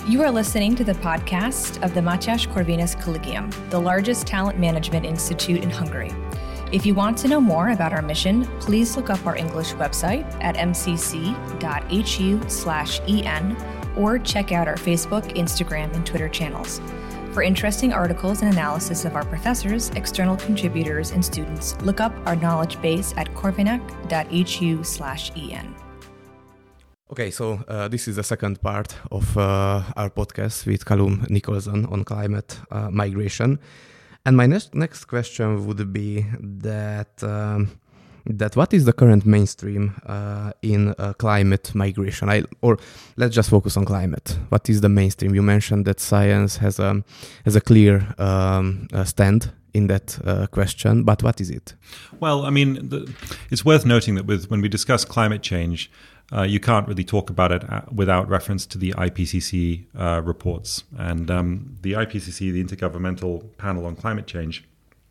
You are listening to the podcast of the Mátyás Corvinus Collegium, the largest talent management institute in Hungary. If you want to know more about our mission, please look up our English website at mcc.hu/en or check out our Facebook, Instagram, and Twitter channels. For interesting articles and analysis of our professors, external contributors, and students, look up our knowledge base at corvinec.hu/en. Okay, so this is the second part of our podcast with Callum Nicholson on climate migration. And my next question would be that what is the current mainstream in climate migration? Or let's just focus on climate. What is the mainstream? You mentioned that science has a clear stand in that question, but what is it? Well, I mean, it's worth noting that when we discuss climate change, you can't really talk about it without reference to the IPCC reports. And the IPCC, the Intergovernmental Panel on Climate Change,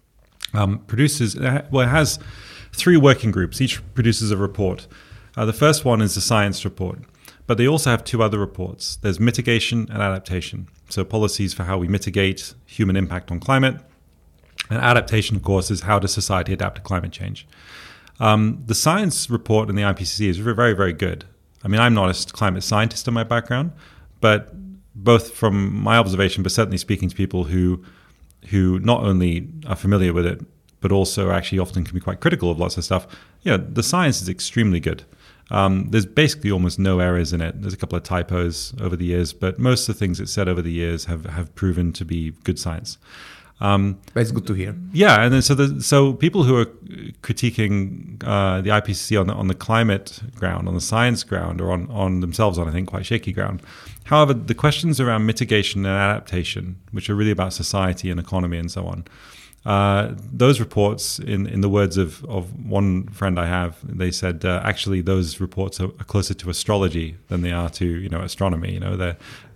it has three working groups. Each produces a report. The first one is the science report, but they also have two other reports. There's mitigation and adaptation, so policies for how we mitigate human impact on climate. And adaptation, of course, is how does society adapt to climate change. The science report in the IPCC is very, very good. I mean, I'm not a climate scientist in my background, but both from my observation, but certainly speaking to people who not only are familiar with it, but also actually often can be quite critical of lots of stuff, the science is extremely good. There's basically almost no errors in it. There's a couple of typos over the years, but most of the things it said over the years have proven to be good science. It's good to hear. Yeah, and then so people who are critiquing the IPCC on the climate ground, on the science ground, or on themselves on, I think, quite shaky ground. However, the questions around mitigation and adaptation, which are really about society and economy and so on, those reports, in the words of one friend I have, they said actually those reports are closer to astrology than they are to astronomy. And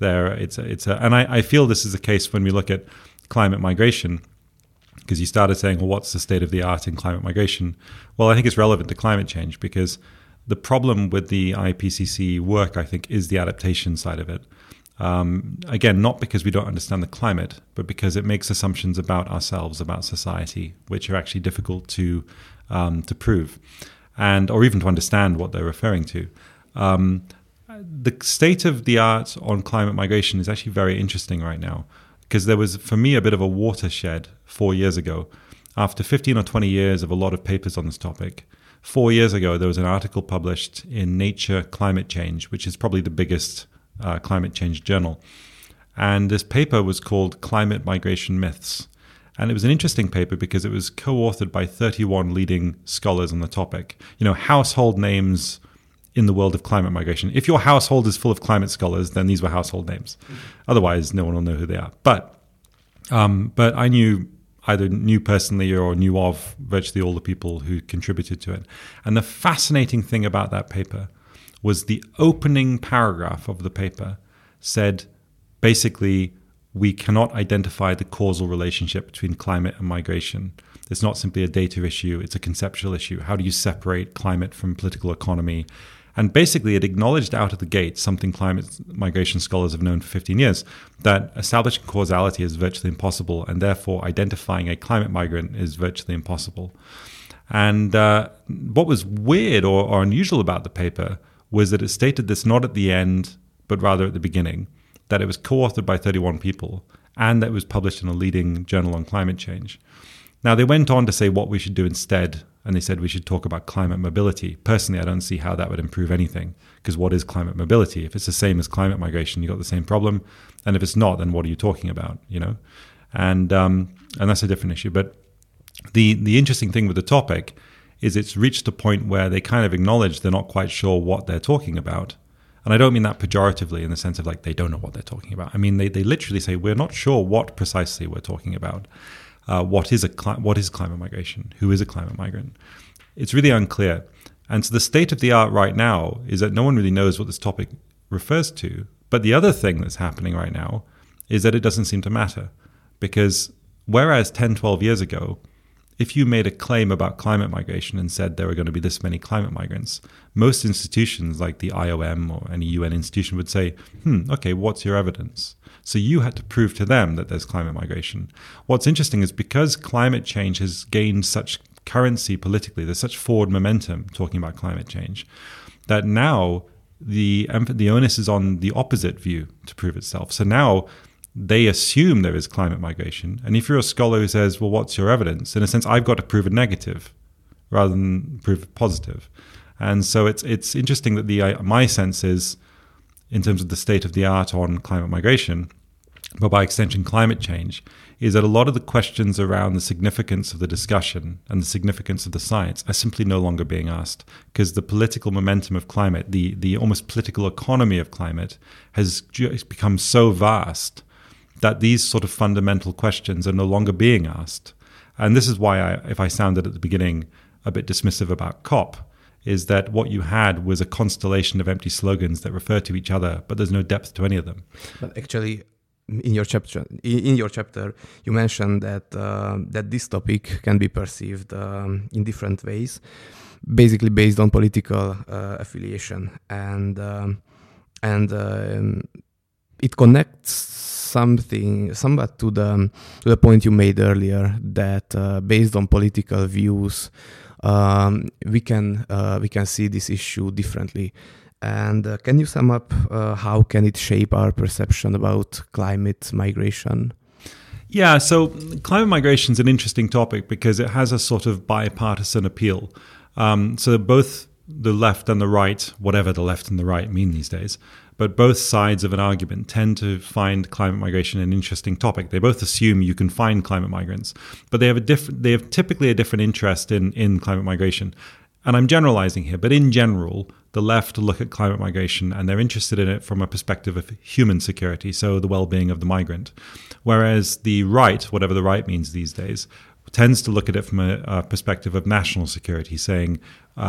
I feel this is the case when we look at climate migration, because you started saying, well, what's the state of the art in climate migration? Well, I think it's relevant to climate change, because the problem with the IPCC work, I think, is the adaptation side of it. Again, not because we don't understand the climate, but because it makes assumptions about ourselves, about society, which are actually difficult to prove, or even to understand what they're referring to. The state of the art on climate migration is actually very interesting right now, because there was, for me, a bit of a watershed 4 years ago. After 15 or 20 years of a lot of papers on this topic, 4 years ago, there was an article published in Nature Climate Change, which is probably the biggest climate change journal. And this paper was called Climate Migration Myths. And it was an interesting paper because it was co-authored by 31 leading scholars on the topic. Household names in the world of climate migration. If your household is full of climate scholars, then these were household names. Otherwise, no one will know who they are. But I either knew personally or knew of virtually all the people who contributed to it. And the fascinating thing about that paper was the opening paragraph of the paper said, basically, we cannot identify the causal relationship between climate and migration. It's not simply a data issue, it's a conceptual issue. How do you separate climate from political economy? And basically, it acknowledged out of the gate something climate migration scholars have known for 15 years, that establishing causality is virtually impossible, and therefore identifying a climate migrant is virtually impossible. And what was weird or unusual about the paper was that it stated this not at the end, but rather at the beginning, that it was co-authored by 31 people, and that it was published in a leading journal on climate change. Now, they went on to say what we should do instead, and they said we should talk about climate mobility. Personally, I don't see how that would improve anything, because what is climate mobility? If it's the same as climate migration, you've got the same problem. And if it's not, then what are you talking about, And that's a different issue. But the interesting thing with the topic is it's reached a point where they kind of acknowledge they're not quite sure what they're talking about. And I don't mean that pejoratively in the sense of like they don't know what they're talking about. I mean, they literally say, we're not sure what precisely we're talking about. What is climate migration? Who is a climate migrant? It's really unclear. And so the state of the art right now is that no one really knows what this topic refers to. But the other thing that's happening right now is that it doesn't seem to matter. Because whereas 10, 12 years ago, if you made a claim about climate migration and said there are going to be this many climate migrants, most institutions like the IOM or any UN institution would say, okay, what's your evidence? So you had to prove to them that there's climate migration. What's interesting is because climate change has gained such currency politically, there's such forward momentum talking about climate change, that now the onus is on the opposite view to prove itself. So now they assume there is climate migration. And if you're a scholar who says, well, what's your evidence? In a sense, I've got to prove a negative rather than prove a positive. And so it's interesting that my sense is, in terms of the state of the art on climate migration, but by extension climate change, is that a lot of the questions around the significance of the discussion and the significance of the science are simply no longer being asked, because the political momentum of climate, the almost political economy of climate, has become so vast that these sort of fundamental questions are no longer being asked. And this is why, if I sounded at the beginning a bit dismissive about COP, is that what you had was a constellation of empty slogans that refer to each other, but there's no depth to any of them. But actually, in your chapter, you mentioned that this topic can be perceived in different ways, basically based on political affiliation, and it connects somewhat to the point you made earlier, that based on political views, we can see this issue differently. And can you sum up how can it shape our perception about climate migration? Yeah, so climate migration is an interesting topic because it has a sort of bipartisan appeal. So both the left and the right, whatever the left and the right mean these days, but both sides of an argument tend to find climate migration an interesting topic. They both assume you can find climate migrants, but they have typically a different interest in climate migration. And I'm generalizing here, but in general, the left look at climate migration and they're interested in it from a perspective of human security, so the well-being of the migrant. Whereas the right, whatever the right means these days, tends to look at it from a perspective of national security, saying,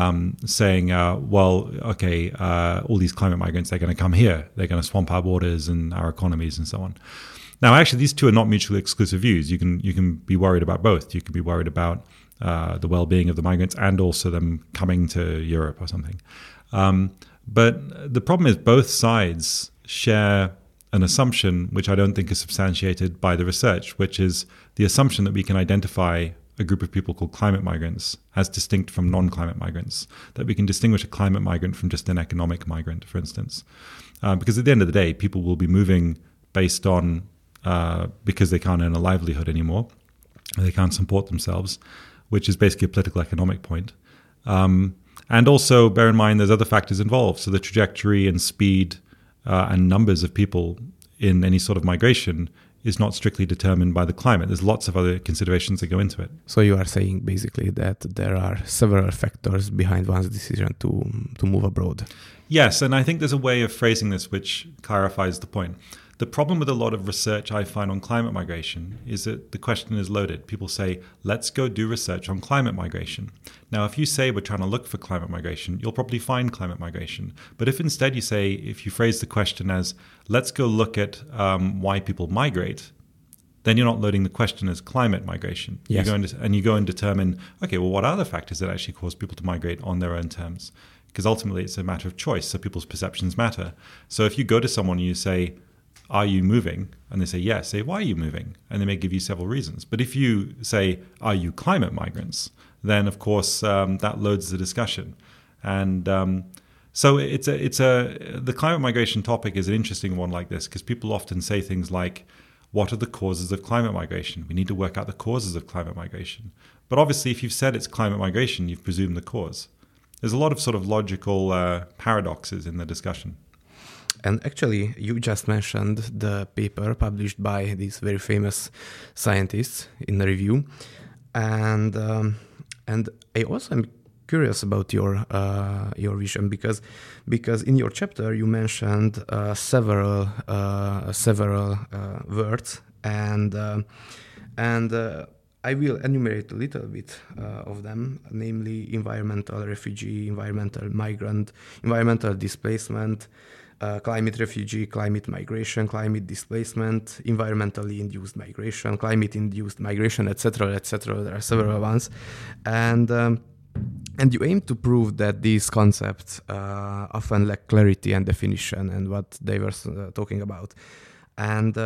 all these climate migrants, they're going to come here. They're going to swamp our borders and our economies and so on. Now, actually, these two are not mutually exclusive views. You can be worried about both. You can be worried about the well-being of the migrants and also them coming to Europe or something. But the problem is both sides share an assumption which I don't think is substantiated by the research, which is the assumption that we can identify a group of people called climate migrants as distinct from non-climate migrants, that we can distinguish a climate migrant from just an economic migrant, for instance. Because at the end of the day, people will be moving based on, because they can't earn a livelihood anymore, they can't support themselves, which is basically a political economic point. And also bear in mind there's other factors involved. So the trajectory and speed and numbers of people in any sort of migration is not strictly determined by the climate. There's lots of other considerations that go into it. So you are saying basically that there are several factors behind one's decision to move abroad. Yes, and I think there's a way of phrasing this which clarifies the point. The problem with a lot of research I find on climate migration is that the question is loaded. People say, let's go do research on climate migration. Now, if you say we're trying to look for climate migration, you'll probably find climate migration. But if instead you say, if you phrase the question as, let's go look at why people migrate, then you're not loading the question as climate migration. Yes. You go and determine, okay, well, what are the factors that actually cause people to migrate on their own terms? Because ultimately it's a matter of choice, so people's perceptions matter. So if you go to someone and you say, are you moving? And they say, yes. Say, why are you moving? And they may give you several reasons. But if you say, are you climate migrants? Then, of course, that loads the discussion. And so the climate migration topic is an interesting one like this, because people often say things like, what are the causes of climate migration? We need to work out the causes of climate migration. But obviously, if you've said it's climate migration, you've presumed the cause. There's a lot of sort of logical paradoxes in the discussion. And actually, you just mentioned the paper published by these very famous scientists in the review, and I also am curious about your vision because in your chapter you mentioned several words, and I will enumerate a little bit of them, namely environmental refugee, environmental migrant, environmental displacement, climate refugee, climate migration, climate displacement, environmentally induced migration, climate-induced migration, etc., etc. There are several ones, and you aim to prove that these concepts often lack clarity and definition and what they were talking about, and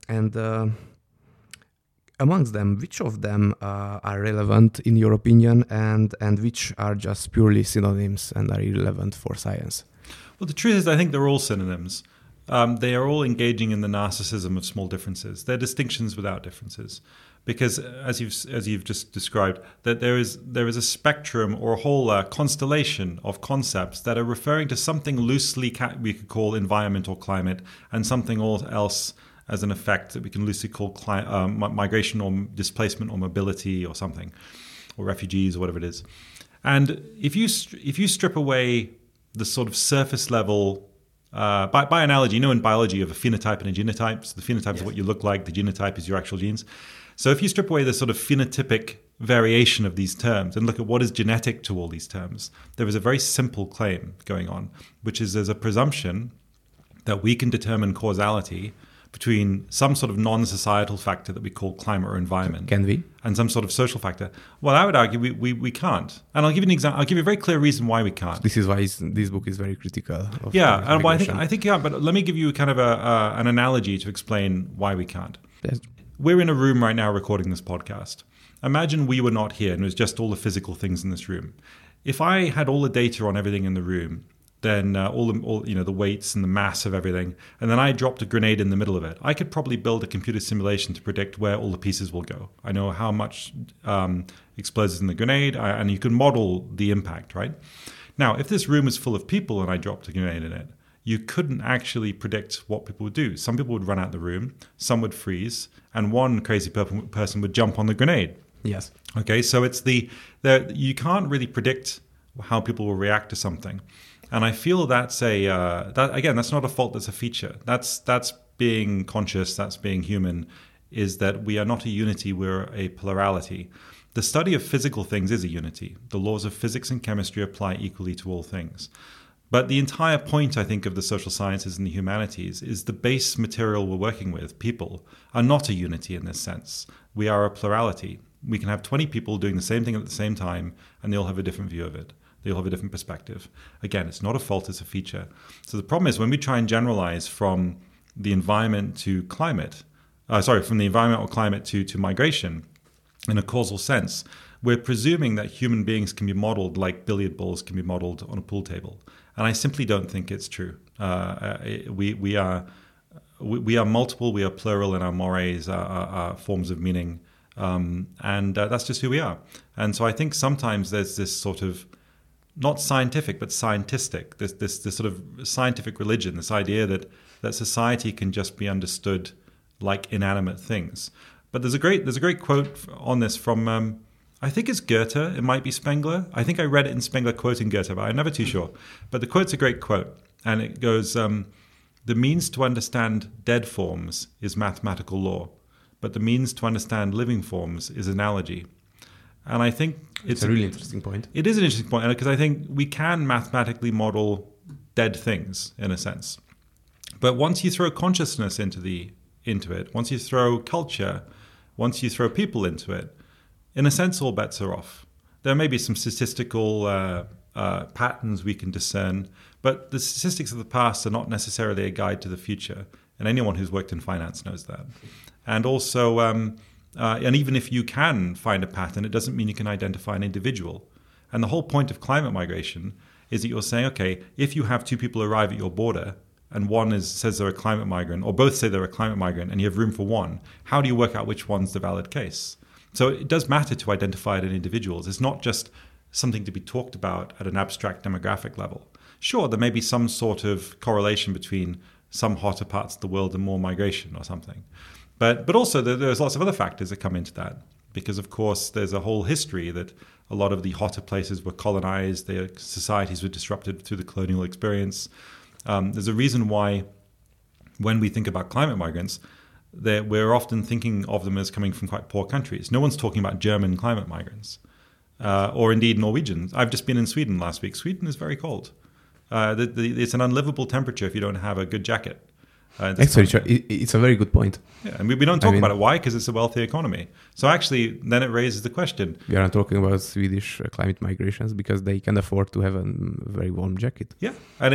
amongst them, which of them are relevant in your opinion, and which are just purely synonyms and are irrelevant for science? Well, the truth is, I think they're all synonyms. They are all engaging in the narcissism of small differences. They're distinctions without differences, because as you've just described, that there is a spectrum or a whole constellation of concepts that are referring to something loosely we could call environment or climate, and something else as an effect that we can loosely call migration or displacement or mobility or something, or refugees or whatever it is. And if you strip away the sort of surface level, by analogy, in biology you have a phenotype and a genotype. So the phenotype is what you look like, the genotype is your actual genes. So if you strip away the sort of phenotypic variation of these terms and look at what is genetic to all these terms, there is a very simple claim going on, which is there's a presumption that we can determine causality between some sort of non-societal factor that we call climate or environment. Can we? And some sort of social factor. Well, I would argue we can't. And I'll give you an example. I'll give you a very clear reason why we can't. This is why this book is very critical. And I think yeah. But let me give you kind of an analogy to explain why we can't. Yes. We're in a room right now recording this podcast. Imagine we were not here and it was just all the physical things in this room. If I had all the data on everything in the room, then all the weights and the mass of everything, and then I dropped a grenade in the middle of it, I could probably build a computer simulation to predict where all the pieces will go. I know how much explodes in the grenade, and you can model the impact, right? Now, if this room is full of people and I dropped a grenade in it, you couldn't actually predict what people would do. Some people would run out the room, some would freeze, and one crazy person would jump on the grenade. Yes. Okay, so you can't really predict how people will react to something. And I feel that's that's not a fault, that's a feature. That's being conscious, that's being human, is that we are not a unity, we're a plurality. The study of physical things is a unity. The laws of physics and chemistry apply equally to all things. But the entire point, I think, of the social sciences and the humanities is the base material we're working with, people, are not a unity in this sense. We are a plurality. We can have 20 people doing the same thing at the same time, and they all have a different view of it. They all have a different perspective. Again, it's not a fault, it's a feature. So the problem is when we try and generalize from the environment to climate, from the environment or climate to migration in a causal sense, we're presuming that human beings can be modeled like billiard balls can be modeled on a pool table. And I simply don't think it's true. We are multiple, we are plural in our mores, our forms of meaning, and that's just who we are. And so I think sometimes there's this sort of not scientific, but scientistic, this sort of scientific religion, this idea that society can just be understood like inanimate things. But there's a great quote on this from, I think it's Goethe, it might be Spengler. I think I read it in Spengler quoting Goethe, but I'm never too sure. But the quote's a great quote, and it goes, the means to understand dead forms is mathematical law, but the means to understand living forms is analogy. And I think it's a really interesting point. It is an interesting point, because I think we can mathematically model dead things in a sense. But once you throw consciousness into it, once you throw culture, once you throw people into it, in a sense, all bets are off. There may be some statistical patterns we can discern, but the statistics of the past are not necessarily a guide to the future. And anyone who's worked in finance knows that. And also, and even if you can find a pattern, it doesn't mean you can identify an individual. And the whole point of climate migration is that you're saying, okay, if you have two people arrive at your border, and one says they're a climate migrant, or both say they're a climate migrant, and you have room for one, how do you work out which one's the valid case? So it does matter to identify it in individuals. It's not just something to be talked about at an abstract demographic level. Sure, there may be some sort of correlation between some hotter parts of the world and more migration or something. But also there's lots of other factors that come into that, because of course there's a whole history that a lot of the hotter places were colonized, their societies were disrupted through the colonial experience. There's a reason why when we think about climate migrants, that we're often thinking of them as coming from quite poor countries. No one's talking about German climate migrants, or indeed Norwegians. I've just been in Sweden last week. Sweden is very cold. It's an unlivable temperature if you don't have a good jacket. Actually, it's a very good point. Yeah, and we don't talk about it. Why? Because it's a wealthy economy. So actually, then it raises the question. We aren't talking about Swedish climate migrations because they can afford to have a very warm jacket. Yeah, and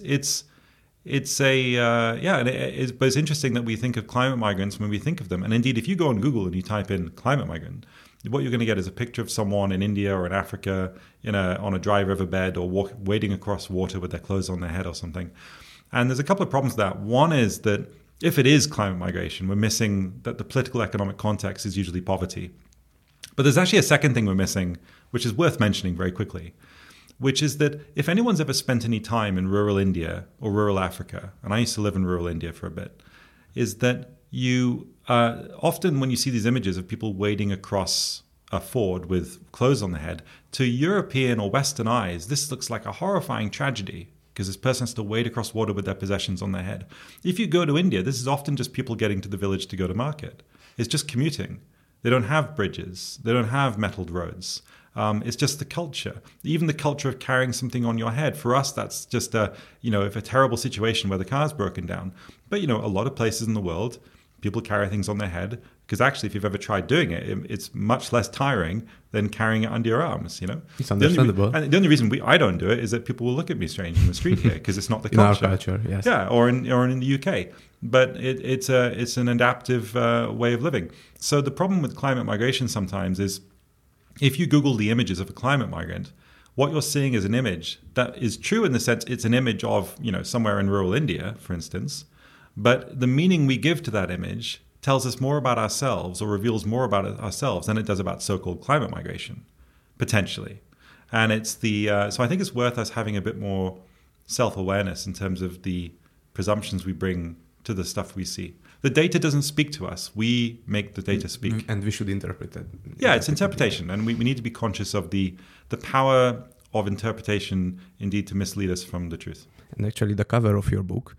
but it's interesting that we think of climate migrants when we think of them. And indeed, if you go on Google and you type in climate migrant, what you're going to get is a picture of someone in India or in Africa on a dry riverbed or wading across water with their clothes on their head or something. And there's a couple of problems with that. One is that if it is climate migration, we're missing that the political economic context is usually poverty. But there's actually a second thing we're missing, which is worth mentioning very quickly, which is that if anyone's ever spent any time in rural India or rural Africa, and I used to live in rural India for a bit, is that you often when you see these images of people wading across a ford with clothes on their head, to European or Western eyes, this looks like a horrifying tragedy because this person has to wade across water with their possessions on their head. If you go to India, this is often just people getting to the village to go to market. It's just commuting. They don't have bridges. They don't have metalled roads. It's just the culture, even the culture of carrying something on your head. For us, that's just if a terrible situation where the car's broken down. But, a lot of places in the world, people carry things on their head because actually, if you've ever tried doing it, it's much less tiring than carrying it under your arms, It's understandable. And the only reason I don't do it is that people will look at me strange in the street here because it's not the culture. In our culture, yes. Yeah, or in the UK. But it's an adaptive way of living. So the problem with climate migration sometimes is if you Google the images of a climate migrant, what you're seeing is an image that is true in the sense it's an image of, somewhere in rural India, for instance. But the meaning we give to that image tells us more about ourselves or reveals more about ourselves than it does about so-called climate migration, potentially. And it's so I think it's worth us having a bit more self-awareness in terms of the presumptions we bring to the stuff we see. The data doesn't speak to us. We make the data speak. And we should interpret it. Yeah, it's interpretation. And we need to be conscious of the power of interpretation, indeed, to mislead us from the truth. And actually, the cover of your book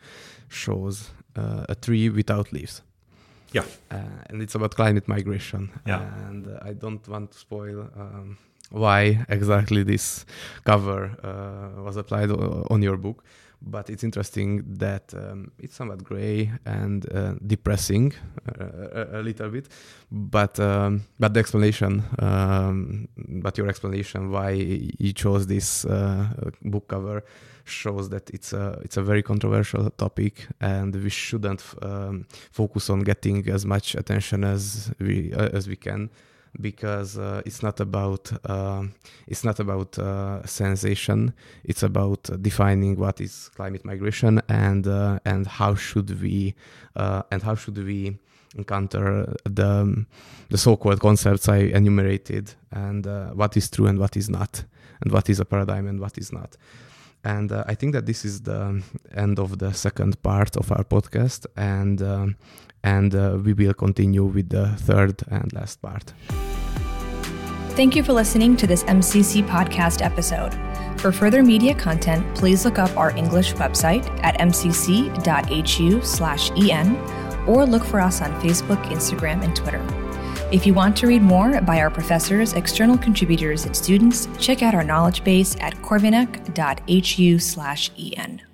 shows a tree without leaves. Yeah. And it's about climate migration. Yeah. And I don't want to spoil why exactly this cover was applied on your book. But it's interesting that it's somewhat gray and depressing a little bit. But the explanation, but your explanation why you chose this book cover shows that it's a very controversial topic, and we shouldn't focus on getting as much attention as we can. Because it's not about sensation. It's about defining what is climate migration and how should we encounter the so-called concepts I enumerated, and what is true and what is not, and what is a paradigm and what is not. And I think that this is the end of the second part of our podcast, and we will continue with the third and last part. Thank you for listening to this MCC podcast episode. For further media content, please look up our English website at mcc.hu/en or look for us on Facebook, Instagram, and Twitter. If you want to read more by our professors, external contributors, and students, check out our knowledge base at corvinec.hu/en.